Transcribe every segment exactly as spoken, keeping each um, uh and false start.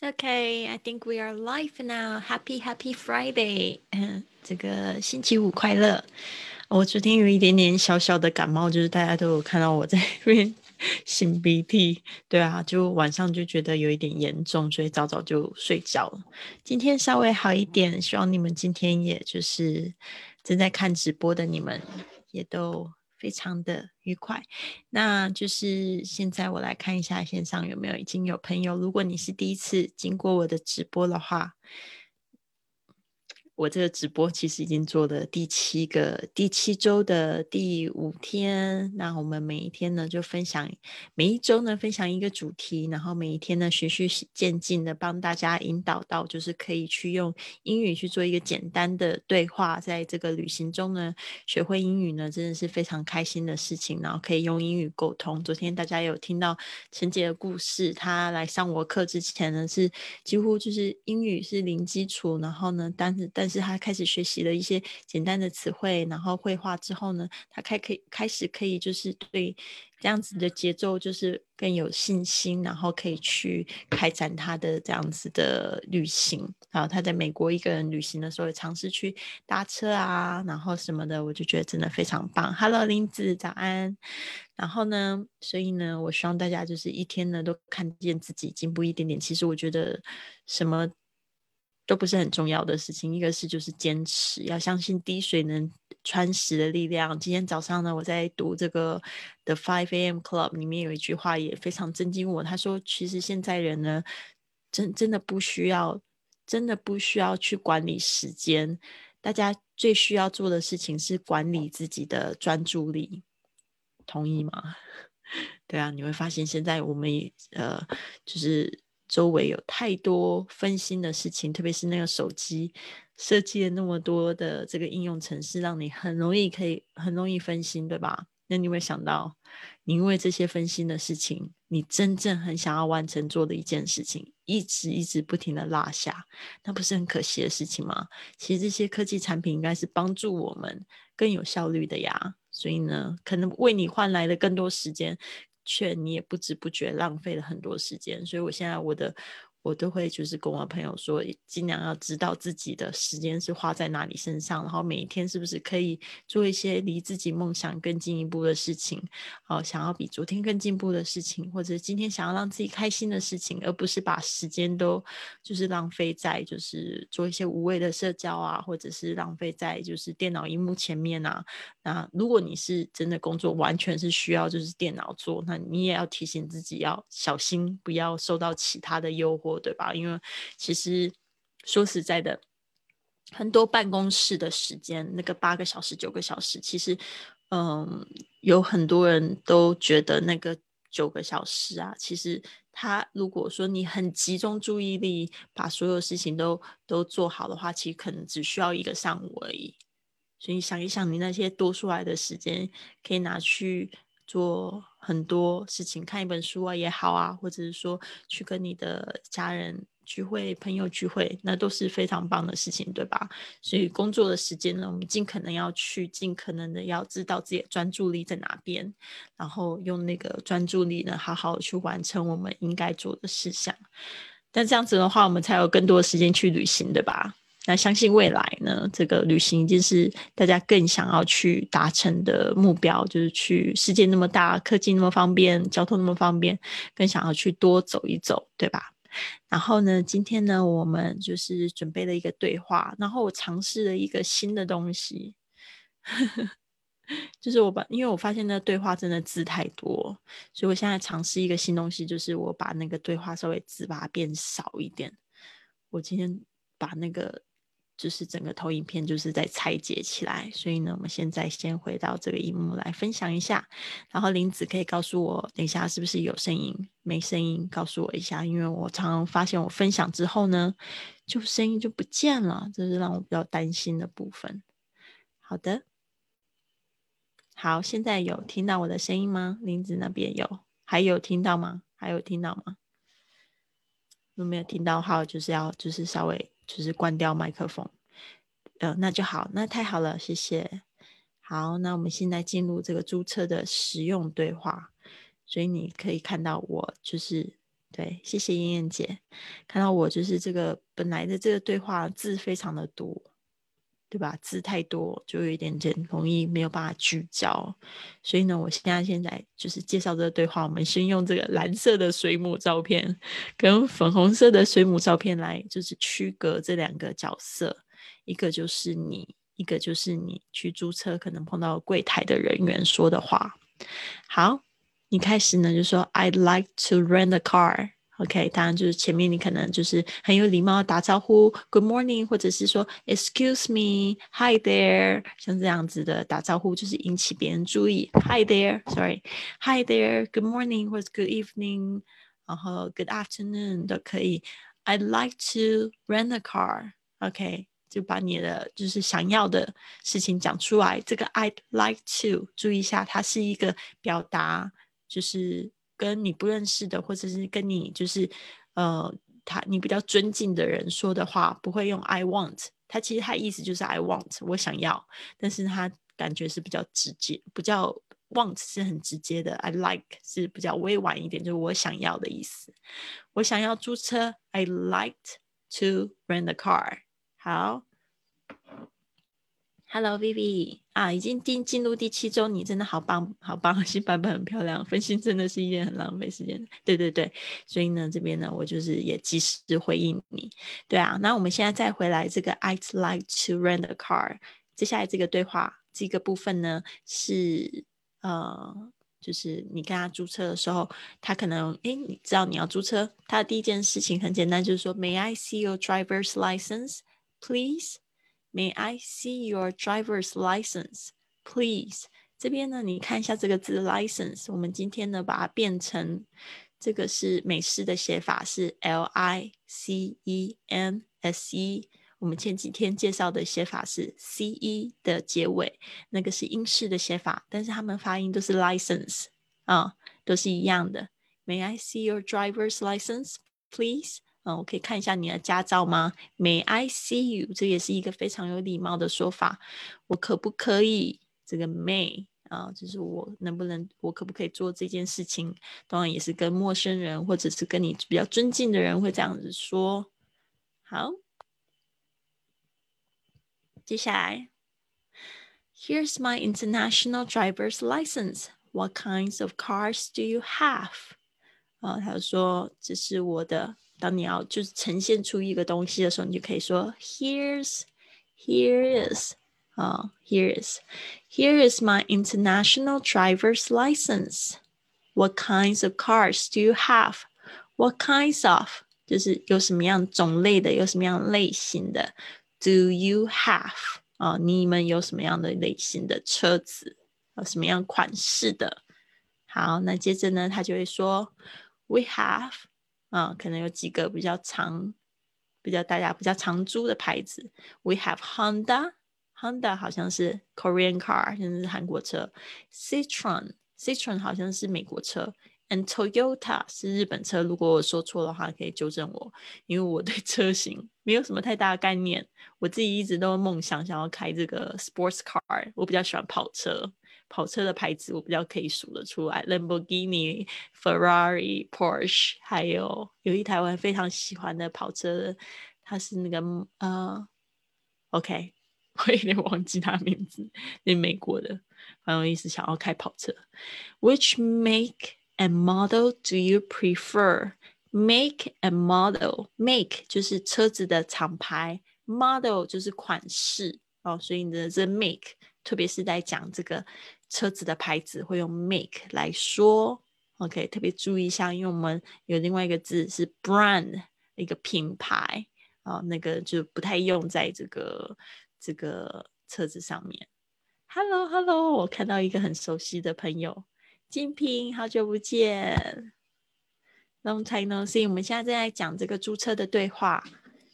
Okay, I think we are live now. Happy Happy Friday. 嗯，这个星期五快乐。我昨天有一点点小小的感冒，就是大家都有看到我在那边擤鼻涕，对啊，就晚上就觉得有一点严重，所以早早就睡觉了。今天稍微好一点，希望你们今天也就是正在看直播的你们也都非常的愉快。那就是现在我来看一下线上有没有已经有朋友，如果你是第一次经过我的直播的话，我这个直播其实已经做了第七个第七周的第五天，那我们每一天呢就分享，每一周呢分享一个主题，然后每一天呢循序渐进的帮大家引导到就是可以去用英语去做一个简单的对话，在这个旅行中呢学会英语呢真的是非常开心的事情，然后可以用英语沟通。昨天大家有听到陈姐的故事，她来上我课之前呢是几乎就是英语是零基础，然后呢但是但是她开始学习了一些简单的词汇，然后绘画之后呢她开可以开始可以就是对这样子的节奏就是更有信心，然后可以去开展她的这样子的旅行。然后她在美国一个人旅行的时候也尝试去搭车啊然后什么的，我就觉得真的非常棒。 Hello 林子早安。然后呢所以呢我希望大家就是一天呢都看见自己进步一点点，其实我觉得什么都不是很重要的事情，一个是就是坚持，要相信滴水能穿石的力量。今天早上呢我在读这个 The five A M Club 里面有一句话也非常震惊我，他说其实现在人呢真真的不需要真的不需要去管理时间，大家最需要做的事情是管理自己的专注力，同意吗？对啊，你会发现现在我们呃，就是周围有太多分心的事情，特别是那个手机设计了那么多的这个应用程式，让你很容易可以很容易分心，对吧？那你有没有想到，你因为这些分心的事情，你真正很想要完成做的一件事情，一直一直不停的落下，那不是很可惜的事情吗？其实这些科技产品应该是帮助我们更有效率的呀，所以呢可能为你换来了更多时间，却你也不知不觉浪费了很多时间。所以我现在我的我都会就是跟我朋友说，尽量要知道自己的时间是花在哪里身上，然后每一天是不是可以做一些离自己梦想更进一步的事情、呃、想要比昨天更进步的事情，或者今天想要让自己开心的事情，而不是把时间都就是浪费在就是做一些无谓的社交啊，或者是浪费在就是电脑荧幕前面啊。那如果你是真的工作完全是需要就是电脑做，那你也要提醒自己要小心，不要受到其他的诱惑，对吧？因为其实说实在的，很多办公室的时间那个八个小时九个小时，其实嗯，有很多人都觉得那个九个小时啊，其实他如果说你很集中注意力把所有事情都都做好的话，其实可能只需要一个上午而已。所以想一想，你那些多出来的时间可以拿去做很多事情，看一本书啊也好啊，或者是说去跟你的家人聚会、朋友聚会，那都是非常棒的事情，对吧？所以工作的时间呢，我们尽可能要去，尽可能的要知道自己的专注力在哪边，然后用那个专注力呢，好好去完成我们应该做的事项。但这样子的话，我们才有更多的时间去旅行，对吧？那相信未来呢，这个旅行一定是大家更想要去达成的目标，就是去世界那么大，科技那么方便，交通那么方便，更想要去多走一走，对吧？然后呢，今天呢，我们就是准备了一个对话，然后我尝试了一个新的东西，就是我把，因为我发现那个对话真的字太多，所以我现在尝试一个新东西，就是我把那个对话稍微字把它变少一点。我今天把那个就是整个投影片就是在拆解起来，所以呢，我们现在先回到这个荧幕来分享一下，然后林子可以告诉我等一下是不是有声音，没声音告诉我一下，因为我常常发现我分享之后呢，就声音就不见了，这是让我比较担心的部分。好的。好，现在有听到我的声音吗？林子那边有，还有听到吗？还有听到吗？如果没有听到的话，就是要就是稍微就是关掉麦克风，呃，那就好，那太好了，谢谢。好，那我们现在进入这个注册的实用对话，所以你可以看到我就是对，谢谢燕燕姐，看到我就是这个本来的这个对话字非常的多，对吧？字太多就有一点点容易没有办法聚焦，所以呢，我现在现在就是介绍这个对话，我们先用这个蓝色的水母照片跟粉红色的水母照片来就是区隔这两个角色，一个就是你，一个就是你去注册可能碰到柜台的人员说的话。好，你开始呢就说 I'd like to rent a car。OK， 当然就是前面你可能就是很有礼貌打招呼 Good morning， 或者是说 Excuse me Hi there， 像这样子的打招呼就是引起别人注意 Hi there Sorry Hi there Good morning 或者 Good evening， 然后 Good afternoon 都可以。 I'd like to rent a car。 OK，就把你的就是想要的事情讲出来。这个 I'd like to 注意一下，它是一个表达，就是跟你不认识的或者是跟你就是呃他你比较尊敬的人说的话，不会用 I want， 它其实它意思就是 I want 我想要，但是它感觉是比较直接，比较 want 是很直接的， I like 是比较委婉一点，就是我想要的意思。我想要租车 I liked to rent a car。 好，Hello Vivi 啊，已经进进入第七周，你真的好棒好棒，新版本很漂亮，分心真的是一件很浪费时间的。对对对，所以呢这边呢我就是也及时回应你。对啊，那我们现在再回来这个 I'd like to rent a car， 接下来这个对话这个部分呢是呃就是你跟他租车的时候，他可能诶你知道你要租车，他的第一件事情很简单，就是说 May I see your driver's license please？May I see your driver's license, please？ 这边呢，你看一下这个字 license， 我们今天呢把它变成这个是美式的写法是 L I C E N S E， 我们前几天介绍的写法是 C E 的结尾，那个是英式的写法，但是他们发音都是 license 啊，都是一样的。May I see your driver's license, please？嗯，我可以看一下你的驾照吗？ May I see you？ 这也是一个非常有礼貌的说法。我可不可以？这个 may 啊，就是我能不能，我可不可以做这件事情？当然也是跟陌生人或者是跟你比较尊敬的人会这样子说。好，接下来 Here's my international driver's license. What kinds of cars do you have?啊，他说这是我的。当你要就是呈现出一个东西的时候，你就可以说 Here's Here is 啊、uh, Here is Here is my international driver's license. What kinds of cars do you have? What kinds of 就是有什么样种类的，有什么样类型的 Do you have 啊、uh, 你们有什么样的类型的车子？有什么样款式的？好，那接着呢，他就会说 We have 啊，可能有几个比较长、比较大家比较常租的牌子。We have Honda， Honda 好像是 Korean car， 现在是韩国车。Citroen Citroen 好像是美国车。And Toyota 是日本车，如果我说错的话，可以纠正我，因为我对车型没有什么太大的概念。我自己一直都梦想想要开这个 sports car， 我比较喜欢跑车。跑车的牌子我比较可以数得出来 Lamborghini、Ferrari、Porsche， 还有有一台我非常喜欢的跑车，它是那个呃 OK 我有点忘记它名字，是美国的，反正我一直想要开跑车。 Which make and model do you prefer? Make and model， make 就是车子的厂牌， model 就是款式哦，所以你的这 make 特别是在讲这个车子的牌子会用 make 来说。 OK， 特别注意一下，因为我们有另外一个字是 brand， 一个品牌、哦、那个就不太用在这个这个车子上面。 Hello Hello， 我看到一个很熟悉的朋友金平，好久不见， Long time no see。 我们现在正在讲这个租车的对话，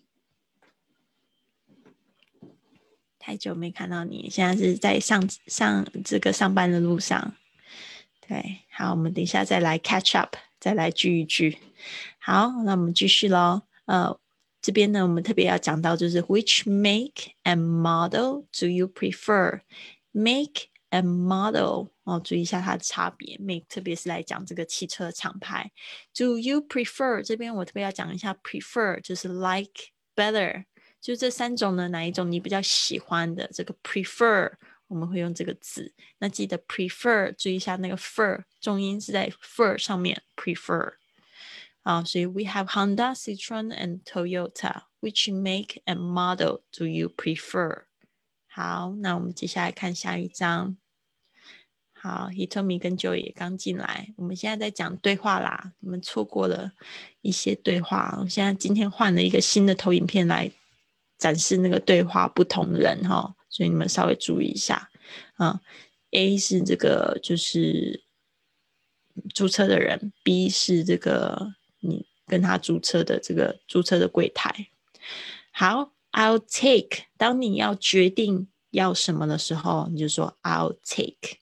太久没看到你，现在是在上上这个上班的路上。对，好，我们等一下再来 catch up， 再来聚一聚。好，那我们继续咯。呃，这边呢，我们特别要讲到就是 which make and model do you prefer？ Make and model 哦，注意一下它的差别 make 特别是来讲这个汽车厂牌。 Do you prefer 这边我特别要讲一下 prefer 就是 like better， 就这三种呢哪一种你比较喜欢的，这个 prefer 我们会用这个字，那记得 prefer 注意一下那个 fer 重音是在 fer 上面 prefer。啊，所以 we have Honda, Citroen and Toyota. Which make and model do you prefer? 好，那我们接下来看下一章。好 Hitomi 跟 Joy 也刚进来，我们现在在讲对话啦，你们错过了一些对话。我现在今天换了一个新的投影片来展示那个对话不同人哈，所以你们稍微注意一下啊。A 是这个就是租车的人， B 是这个你跟他租车的这个租车的柜台。好 I'll take 当你要决定要什么的时候，你就说 I'll take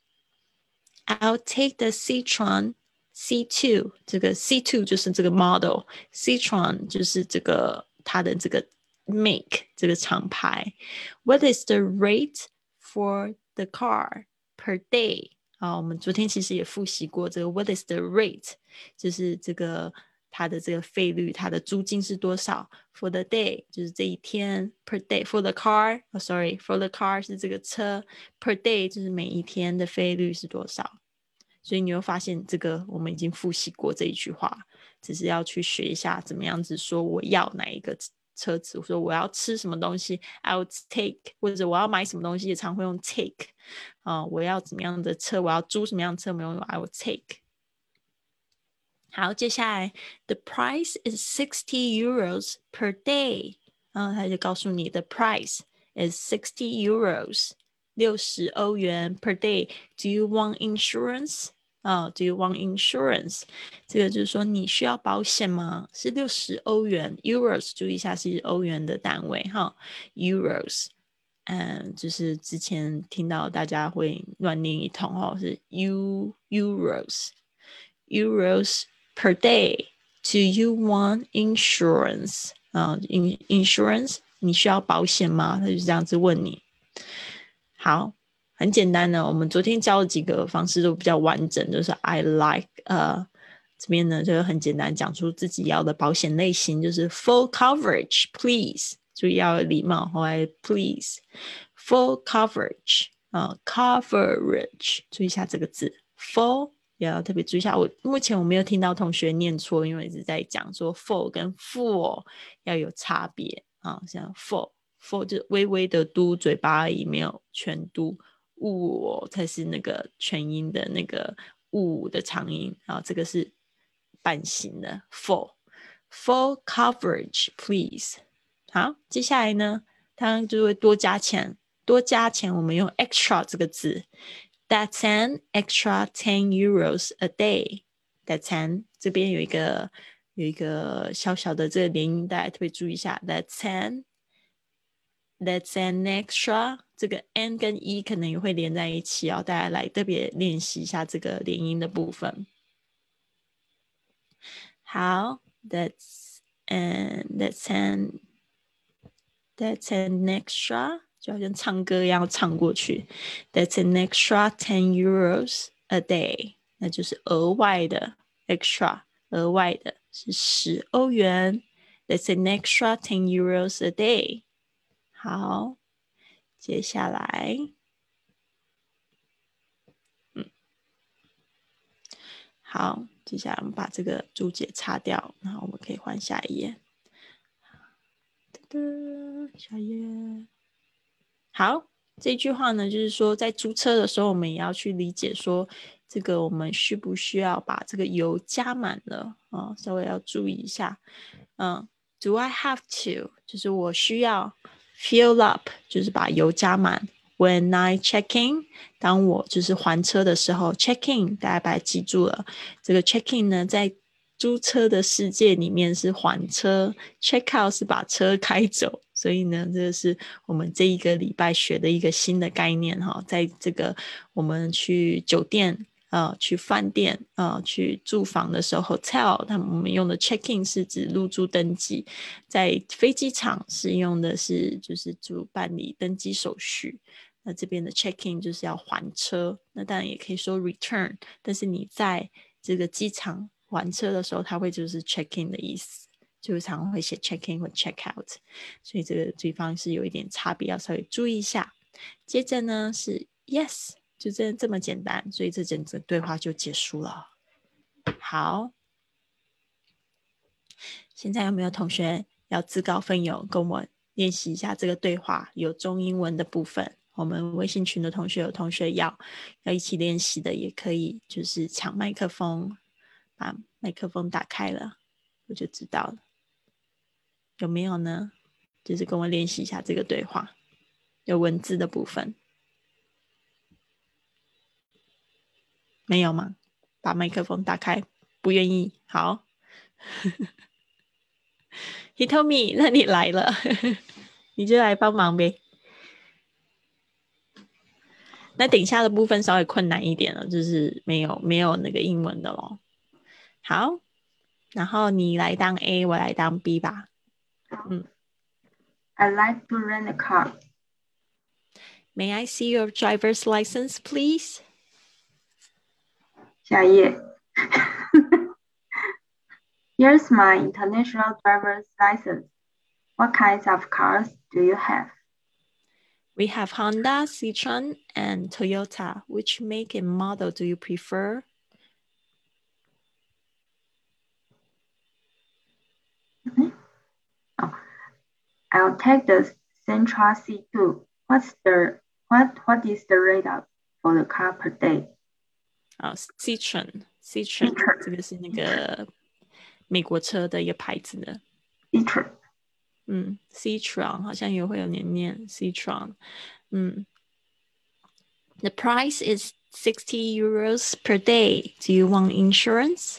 I'll take the Citroen C 二 这个 C 二 就是这个 model， Citroen 就是这个它的这个 make 这个厂牌。 What is the rate for the car per day？ 啊，我们昨天其实也复习过这个 What is the rate 就是这个它的这个费率，它的租金是多少。 For the day 就是这一天 per day for the car、oh, sorry for the car 是这个车 per day 就是每一天的费率是多少。所以你会发现这个我们已经复习过这一句话，只是要去学一下怎么样子说我要哪一个车子，说我要吃什么东西 I'll take， 或者我要买什么东西也常会用 take、呃、我要怎么样的车，我要租什么样的车，我们用 I'll take。好，接下来 The price is sixty euros per day， 然后他就告诉你 The price is sixty euros 六十欧元 per day。 Do you want insurance？Oh, do you want insurance？ 这个就是说你需要保险吗？是六十欧元 Euros 注意一下是欧元的单位哈 Euros， 嗯，就是之前听到大家会乱念一通哦，是 U Euros Euros per day。 Do you want insurance？ 啊、uh, insurance 你需要保险吗？他就这样子问你。好，很简单的，我们昨天教的几个方式都比较完整，就是 I like 呃，这边呢就很简单，讲出自己要的保险类型，就是 full coverage please， 注意要有礼貌，后来 please full coverage 啊、呃、coverage 注意一下这个字 full， 也要特别注意一下。我目前我没有听到同学念错，因为一直在讲说 full 跟 full 要有差别啊，像 full for 就微微的嘟嘴巴而已，没有全嘟，呜、哦、才是那个全音的那个呜的长音，然后这个是半形的 for full coverage please。 好，接下来呢它就会多加钱，多加钱我们用 extra 这个字， That's an extra ten euros a day。 That's an 这边有一个有一个小小的这个连音带，特别注意一下 That's an That's an extra， 这个 n 跟 e 可能也会连在一起哦，大家来特别练习一下这个连音的部分。好 That's an That's an That's an extra， 就好像唱歌一样唱过去。That's an extra ten euros a day， 那就是额外的 extra， 额外的是十欧元。That's an extra ten euros a day。好，接下来，嗯，好，接下来我们把这个注解擦掉，然后我们可以换下一页。下一页。好，这句话呢，就是说在租车的时候，我们也要去理解说，这个我们需不需要把这个油加满了啊、哦？稍微要注意一下。嗯 ，Do I have to？ 就是我需要 fill up， 就是把油加满。When I check in， 当我就是还车的时候 ，check in， 大家把它记住了。这个 check in 呢，在租车的世界里面是还车 ，check out 是把车开走。所以呢，这是我们这一个礼拜学的一个新的概念哈，在这个我们去酒店。呃，去饭店呃，去住房的时候 hotel 他们我们用的 check in 是指入住登记，在飞机场是用的是就是主办理登机手续。 那这边的 check in 就是要还车，那当然也可以说 return， 但是你在这个机场还车的时候，它会就是 check in 的意思，就常常会写 check in 或 check out， 所以这个地方是有一点差别，要稍微注意一下。接着呢是 yes， 就这这么简单，所以这整个对话就结束了。好，现在有没有同学要自告奋勇跟我练习一下这个对话，有中英文的部分？我们微信群的同学有同学要要一起练习的，也可以就是抢麦克风，把麦克风打开了，我就知道了。有没有呢？就是跟我练习一下这个对话，有文字的部分。没有吗？把麦克风打开，不愿意。好，Hitomi， 那你来了，你就来帮忙呗。那等一下的部分稍微困难一点了，就是没有没有那个英文的咯。好，然后你来当 A， 我来当 B 吧。嗯。 I like to rent a car. May I see your driver's license, please? 下一页。Here's my international driver's license. What kinds of cars do you have? We have Honda, Citroen, and Toyota. Which make and model do you prefer? Oh, I'll take the Sentra C two. What's the what what is the rate of for the car per day? 啊、oh, Citroen Citroen 这个是那个美国车的一个牌子的。 Citroen 嗯 Citroen 好像也会有念念 Citroen。嗯 The price is sixty euros per day. Do you want insurance?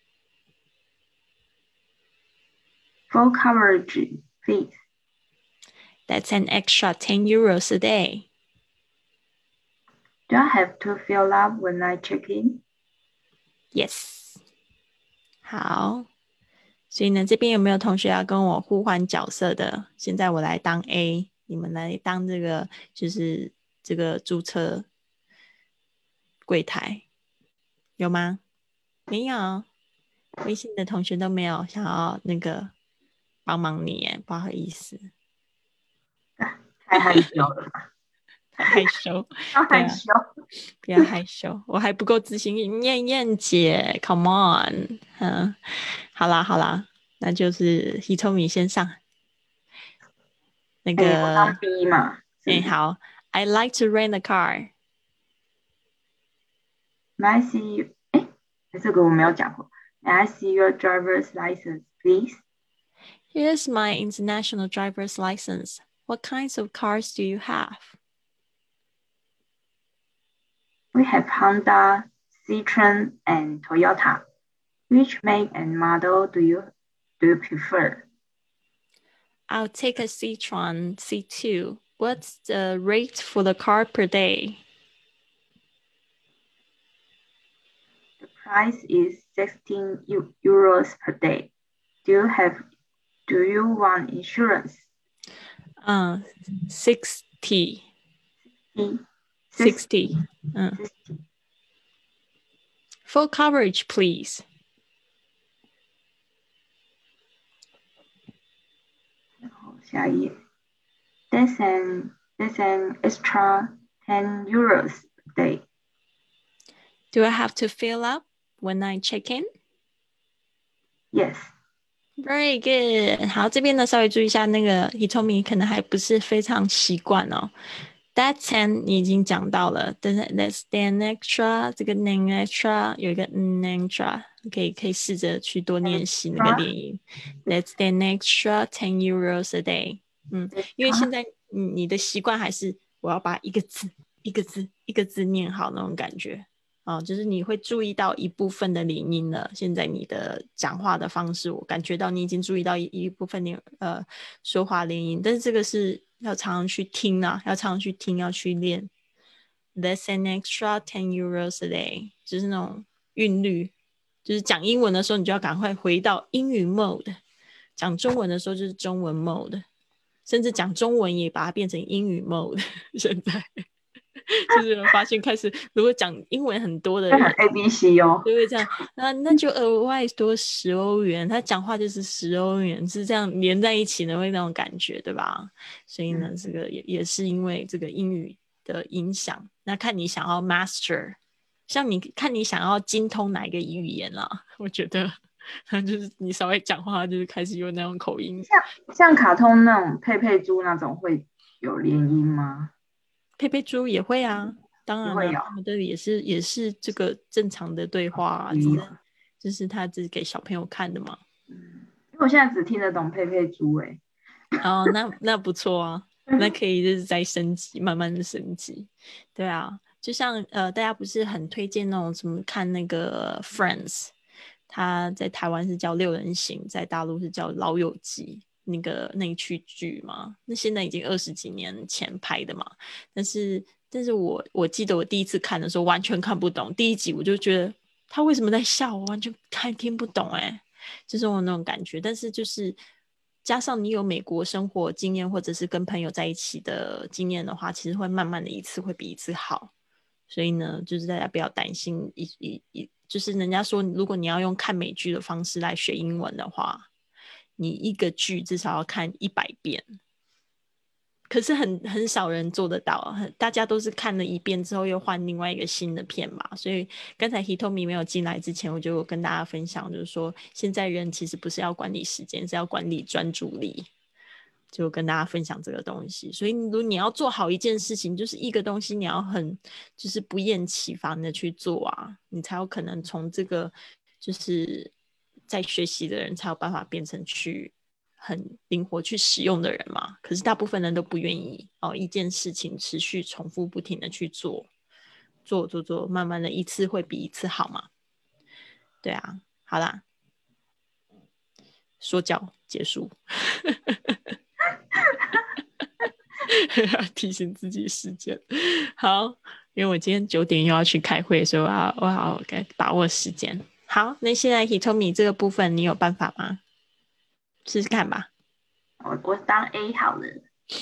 Full coverage, please. That's an extra ten euros a day. Do I have to fill up when I check in? Yes. 好，所以呢，这边有没有同学要跟我互换角色的？现在我来当 A， 你们来当这个就是这个注册柜台，有吗？没有，微信的同学都没有想要那个帮忙你耶，不好意思， 太害羞了吧？ 太害羞， 太对啊， 害羞， 不要害羞，我还不够自信。燕燕姐 ，Come on，嗯，好啦好啦，那就是 Hitomi 先上。那哎，我当个， B 嘛，是哎、 不是好 ，I like to rent a car. ？May I see you？哎，这个我没有讲过。May I see your driver's license, please? Here's my international driver's license. What kinds of cars do you have? We have Honda, Citroen, and Toyota. Which make and model do you do you prefer? I'll take a Citroen C two. What's the rate for the car per day? The price is sixteen euros per day. Do you have do you want insurance? Uh, sixty. E, sixty. Uh, full coverage, please. 然后下一页 That's an that's an extra ten euros a day. Do I have to fill up when I check in? Yes. Very good. 好，这边呢稍微注意一下，那个 Hitomi 可能还不是非常习惯哦。That ten 你已经讲到了，但是 That's an extra 这个 an extra 有一个 an extra，可以可以试着去多练习那个连音。That's an extra ten euros a day。嗯，因为现在你的习惯还是我要把一个字一个字一个字念好那种感觉。哦，就是你会注意到一部分的连音了。现在你的讲话的方式，我感觉到你已经注意到一一部分连呃说话连音，但是这个是要常常去听啊，要常常去听，要去练。That's an extra ten euros a day， 就是那种韵律，就是讲英文的时候，你就要赶快回到英语 mode；讲中文的时候就是中文 mode。 甚至讲中文也把它变成英语 mode 现在就是发现开始如果讲英文很多的人 A B C 哦， 就会这样，那那就额外多十欧元，他讲话就是十欧元，是这样连在一起的，会那种感觉，对吧？所以呢， 嗯、 这个也也是因为这个英语的影响。那看你想要 master， 像你看你想要精通哪一个语言啦，我觉得就是你稍微讲话就是开始有那种口音。 像像卡通那种佩佩猪那种会有连音吗？ 佩佩猪也会啊，当然了、 也会有。 啊，他们的也是也是这个正常的对话啊，只是就是他只是给小朋友看的嘛。 嗯，因为我现在只听得懂佩佩猪哎。 哦，那那不错啊，那可以就是再升级，慢慢的升级。对啊，就像呃，大家不是很推荐那种什么看那个 Friends，他在台湾是叫六人行，在大陆是叫老友记，那个那一区剧嘛，那现在已经二十几年前拍的嘛，但是但是我我记得我第一次看的时候完全看不懂，第一集我就觉得他为什么在笑，我完全看听不懂哎、欸，就是我那种感觉，但是就是加上你有美国生活经验或者是跟朋友在一起的经验的话，其实会慢慢的一次会比一次好。所以呢，就是大家不要担心一一一，就是人家说，如果你要用看美剧的方式来学英文的话，你一个剧至少要看一百遍。可是很很少人做得到，大家都是看了一遍之后又换另外一个新的片嘛。所以刚才 Hitomi 没有进来之前，我就跟大家分享，就是说现在人其实不是要管理时间，是要管理专注力。就跟大家分享这个东西，所以如果你要做好一件事情，就是一个东西你要很就是不厌其烦的去做啊，你才有可能从这个就是在学习的人才有办法变成去很灵活去使用的人嘛。可是大部分人都不愿意哦，一件事情持续重复不停的去做，做做做，慢慢的一次会比一次好嘛。对啊，好啦，说教结束。提醒自己时间。好，因为我今天九点又要去开会，所以我要我要把握时间。好，那现在 Hitomi 这个部分你有办法吗？试试看吧。 我我当 A 好了。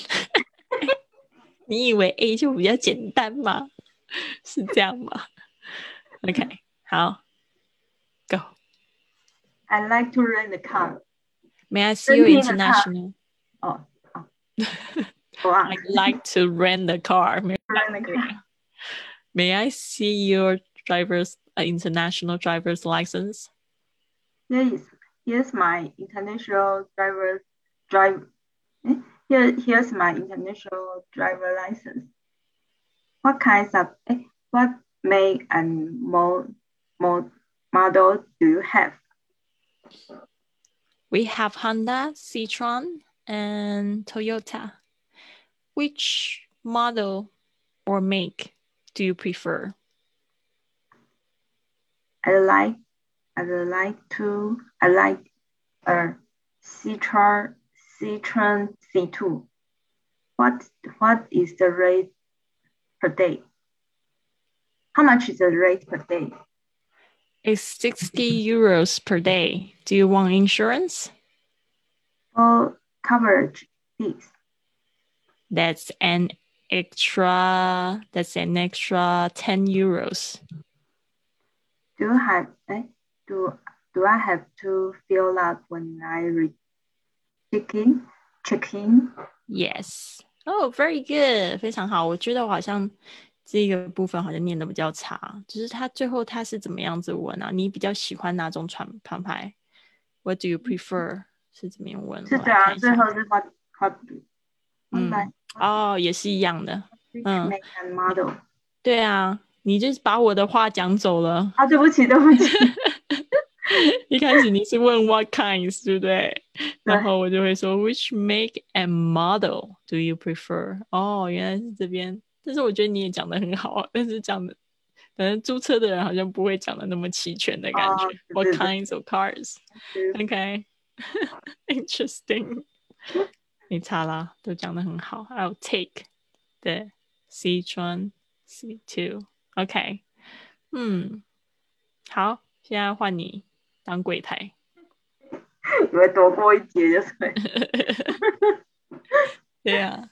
你以为 A 就比较简单吗？是这样吗 ？OK， 好 ，Go。 I like to rent a car. May I see your Renting a car. international? 哦哦，我忘了。 I'd like to rent a car. May, rent a car. May I see your driver's uh, international driver's license? Yes, here's my international driver drive. eh, Here, here's my international driver license. What kinds of eh, what make and mo, mo, model do you have? We have Honda, Citroen, and Toyota. Which model or make do you prefer? I like I like to I like a Citroen Citroen C two. What what is the rate per day? How much is the rate per day? It's sixty euros per day. Do you want insurance? Full coverage, please. That's an extra that's an extra ten euros. Do you have eh, do do I have to fill up when I re check in? Check in? Yes. Oh, very good. 非常好。我觉得我好像这个部分好像念的比较差，就是他最后他是怎么样子问啊？你比较喜欢哪种船船牌 ？What do you prefer？是怎么样问？ 是的啊， 我来看一下。 最后是 what what 嗯，哦，也是一样的。 which 嗯， make and model？ 对啊，你就是把我的话讲走了。 啊，对不起，对不起。 一开始你是问 what kinds， 对不对？然后我就会说 which make and model do you prefer？ 哦，原来是这边。但是我觉得你也讲得很好，但是讲的，反正注册的人好像不会讲的那么齐全的感觉。 哦， What 对对 kinds of cars？OK， interesting。没差啦，都讲得很好。I'll take the Citroen C two。OK， 嗯，好，现在换你当柜台。 以为躲过一劫就是。 对啊，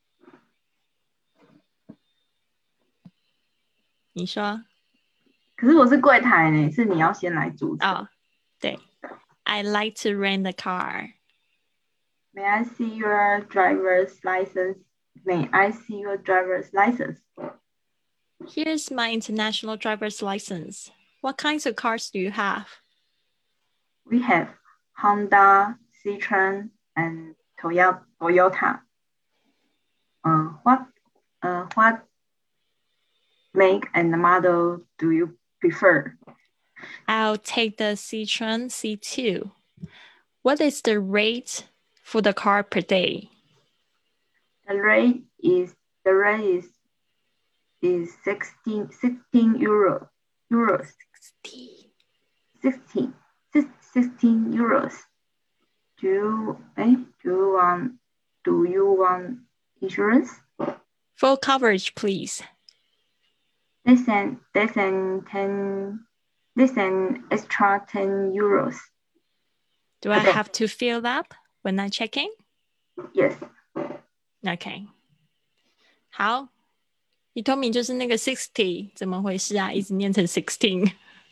你说可是我是柜台呢，是你要先来主持。 哦，对 I like to rent a car. May I see your driver's license? May I see your driver's license? Here's my international driver's license. What kinds of cars do you have? We have Honda, Citroen, and Toyota. Uh, what uh, what make and model do you prefer? I'll take the Citroen C two. What is the rate for the car per day? The rate is the rate is is sixteen sixteen euro euros sixty. sixteen sixteen euros. Do you eh, do you want do you want insurance? Full coverage, please. Listen listen ten listen extra ten euros. Do I have to fill up when I check in? Yes. OK. 好，Hitomi 就是那个 sixty， 怎么回事啊？一直念成 sixteen。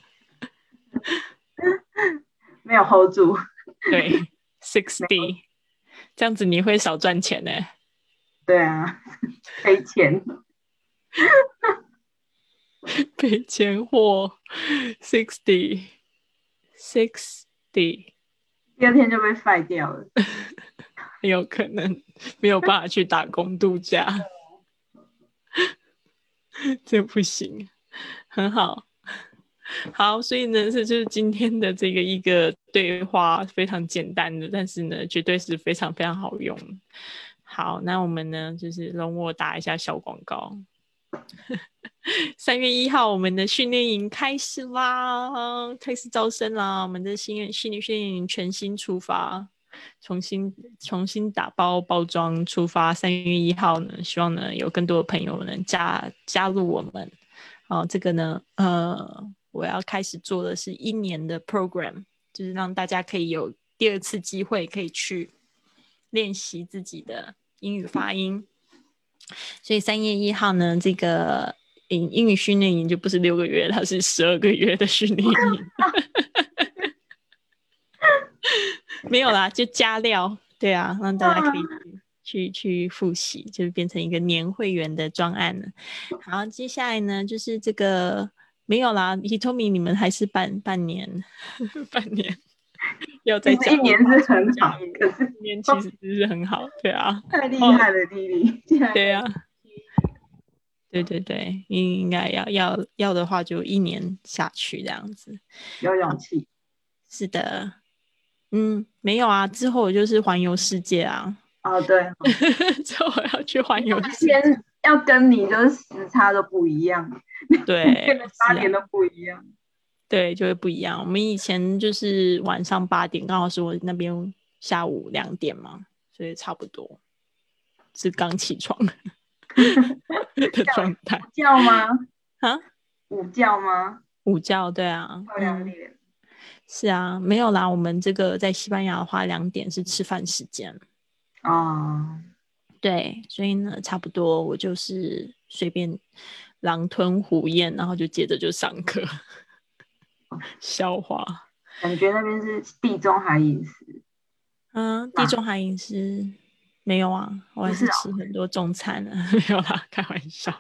没有 hold 住。 对 ，sixty， 这样子你会少赚钱呢。 对啊，赔钱。 赔钱货 ，sixty，sixty。 第二天就被废掉了。 很有可能没有办法去打工度假。这不行，很好。好，所以呢，这就是今天的这个一个对话，非常简单的，但是呢，绝对是非常非常好用。好，那我们呢，就是容我打一下小广告。三月一号，我们的训练营开始啦，开始招生啦！我们的新训练训练营全新出发，重新重新打包包装出发。三月一号呢，希望呢有更多的朋友能加加入我们。好，这个呢，呃，我要开始做的是一年的 program， 就是让大家可以有第二次机会，可以去练习自己的英语发音。所以三月一号呢，这个英英语训练营就不是六个月，它是十二个月的训练营。没有啦，就加料，对啊，让大家可以去去复习，就变成一个年会员的专案了。好，接下来呢，就是这个没有啦 ，Hitomi 你们还是半半年，半年要再加一年是很好，可是一年其实是很好，对啊， 太厉害了，弟弟， 对啊。对对对，应该要要要的话，就一年下去这样子。 有勇气。 是的，嗯，没有啊，之后我就是环游世界啊。 哦，对， 之后我要去环游世界， 天要跟你就是时差都不一样， 对， 八点都不一样。 对，就会不一样。我们以前就是晚上八点，刚好是我那边下午两点嘛，所以差不多是刚起床的状态。 午觉吗？ 啊？ 午觉吗？ 午觉，对啊。 漂亮点、嗯。 是啊，没有啦。我们这个在西班牙的话，两点是吃饭时间。 哦。 对，所以呢，差不多我就是随便狼吞虎咽，然后就接着就上课。消化， 感觉那边是地中海饮食。 嗯，地中海饮食没有啊，我还是吃很多中餐啊，没有啦，开玩笑。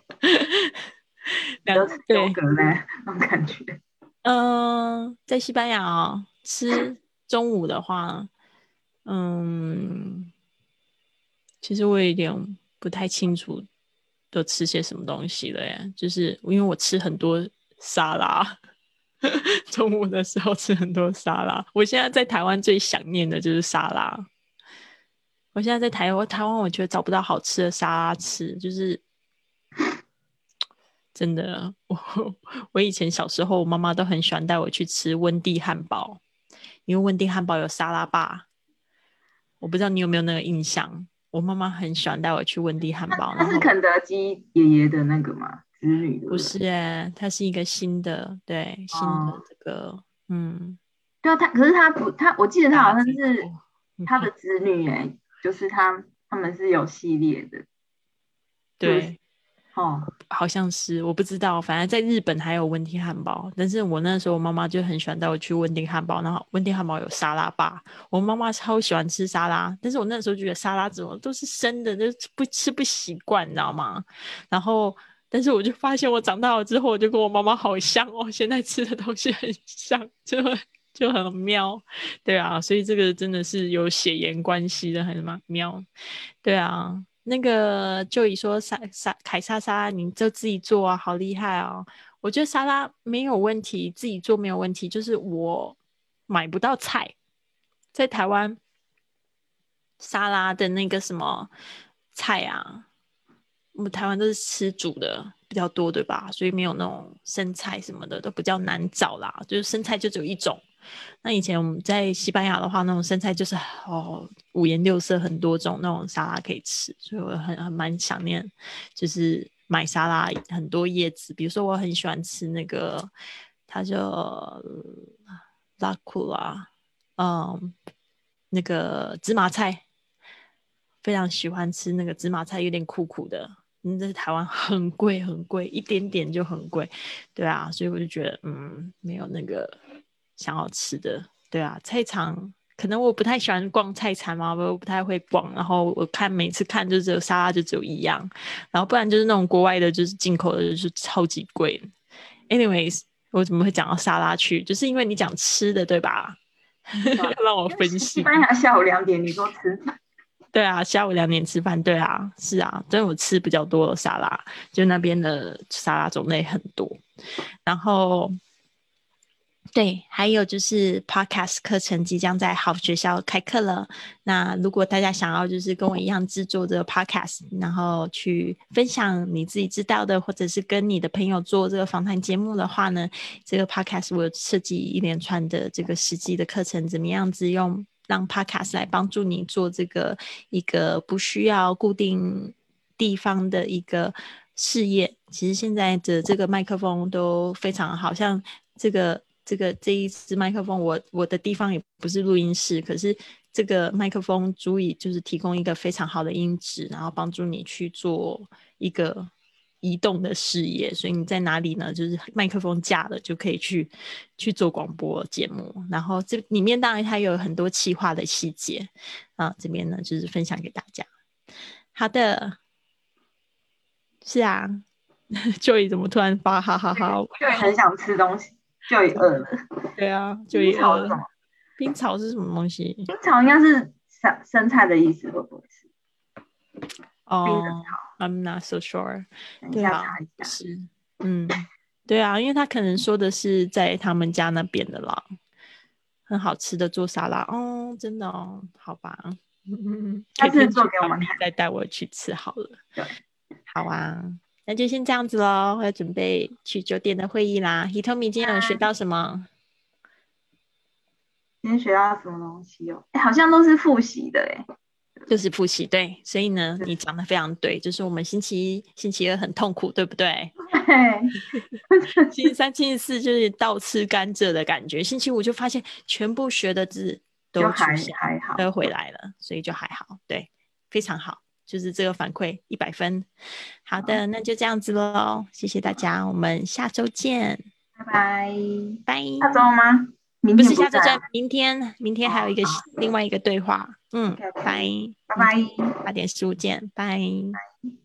有吃优格嘞，那种感觉。 嗯、呃，在西班牙哦，吃中午的话，嗯，其实我有点不太清楚都吃些什么东西了耶，就是因为我吃很多沙拉。中午的时候吃很多沙拉，我现在在台湾最想念的就是沙拉。我现在在台湾，台湾我觉得找不到好吃的沙拉吃，就是真的。我我以前小时候，我妈妈都很喜欢带我去吃温蒂汉堡，因为温蒂汉堡有沙拉吧。我不知道你有没有那个印象？我妈妈很喜欢带我去温蒂汉堡。 那是肯德基爷爷的那个吗？子女的？ 不是耶，它是一个新的，对，新的这个，哦、嗯， 对啊，他可是他不，他我记得他好像是他的子女哎，就是他他他们是有系列的。 对， 哦， 好像是，我不知道，反正在日本还有温蒂汉堡，但是我那时候我妈妈就很喜欢带我去温蒂汉堡，然后温蒂汉堡有沙拉吧，我妈妈超喜欢吃沙拉，但是我那时候觉得沙拉怎么都是生的，就不吃不习惯，你知道吗？然后但是我就发现我长大了之后，我就跟我妈妈好像哦，现在吃的东西很像，就就很妙。对啊，所以这个真的是有血缘关系的，很妙。对啊，那个就以说沙沙凯莎沙拉，你就自己做啊，好厉害哦！我觉得沙拉没有问题，自己做没有问题，就是我买不到菜，在台湾沙拉的那个什么菜啊，我们台湾都是吃煮的比较多，对吧？所以没有那种生菜什么的都比较难找啦，就是生菜就只有一种。那以前我们在西班牙的话，那种生菜就是哦五颜六色很多种那种沙拉可以吃，所以我很很蛮想念，就是买沙拉很多叶子，比如说我很喜欢吃那个，它叫拉库拉，嗯，那个芝麻菜，非常喜欢吃那个芝麻菜，有点苦苦的。嗯，在台湾很贵很贵，一点点就很贵，对啊，所以我就觉得嗯，没有那个想要吃的，对啊，菜场可能我不太喜欢逛菜场嘛，我不太会逛，然后我看每次看就只有沙拉就只有一样，然后不然就是那种国外的，就是进口的，就是超级贵。Anyways，我怎么会讲到沙拉去？就是因为你讲吃的，对吧？要让我分析。 西班牙下午两点，你说吃饭？ 对啊，下午两点吃饭，对啊，是啊，但我吃比较多的沙拉，就那边的沙拉种类很多。然后，对，还有就是 Podcast 课程即将在好学校开课了。那如果大家想要就是跟我一样制作这个 Podcast，然后去分享你自己知道的，或者是跟你的朋友做这个访谈节目的话呢，这个 Podcast 我有设计一连串的这个实际的课程，怎么样子用让 Podcast 来帮助你做这个一个不需要固定地方的一个事业。其实现在的这个麦克风都非常好，像这个这个这一支麦克风我我的地方也不是录音室，可是这个麦克风足以就是提供一个非常好的音质，然后帮助你去做一个移动的事业，所以你在哪里呢？就是麦克风架了就可以去去做广播节目，然后这里面当然它有很多企划的细节啊，这边呢就是分享给大家。好的，是啊，Joy 怎么突然发哈哈哈？ 就很想吃东西，就也饿了。 对啊冰 ，Joy 饿了。 草是什么？ 冰草是什么东西？ 冰草应该是生生菜的意思，会不会是？ 哦、 冰的草。 I'm not so sure。 等一下对啊， 查一下。 是，嗯，对啊，因为他可能说的是在他们家那边的啦，很好吃的做沙拉哦，真的哦，好吧， 下次做给我们看， 再带我去吃好了。 对， 好啊，那就先这样子咯，我要准备去酒店的会议啦。Hitomi 今天有学到什么？ 今天学到什么东西哦？哎，好像都是复习的哎。 就是复习，对，所以呢，你讲的非常对，就是我们星期一、星期二很痛苦，对不对？ 对。 星期三、星期四就是倒吃甘蔗的感觉，星期五就发现全部学的字都出现， 还好， 都回来了，所以就还好，对，非常好，就是这个反馈一百分。好的，那就这样子咯，谢谢大家，我们下周见， 拜拜。 拜。 下周吗？明不天是下周见，明天，明天还有一个、 哦、 另外一个对话，嗯，拜拜拜， 八点十五见，拜。